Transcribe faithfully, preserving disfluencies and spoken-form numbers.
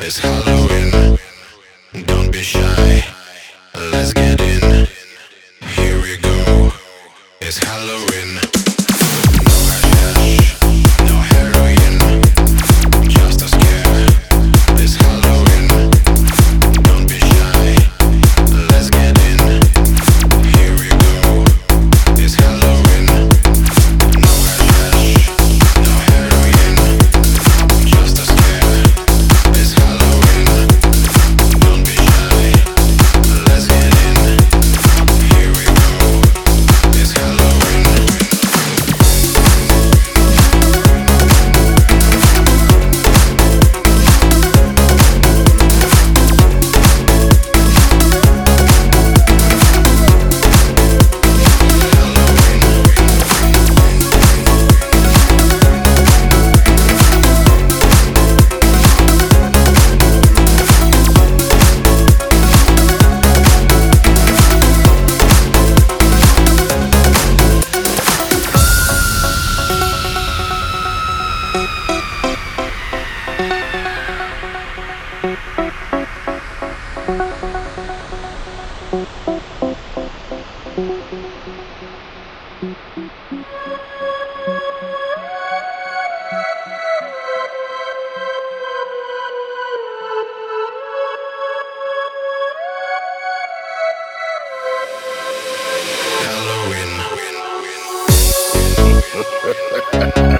It's Halloween, don't be shy, let's get in. Here we go, it's Halloween. No hashish, no heroin, just a scare. It's Halloween, don't be shy, let's get in. Here we go, it's Halloween. No hashish, no heroin, just a scare. It's Halloween, don't be shy, let's get in. Here we go, it's Halloween. Halloween.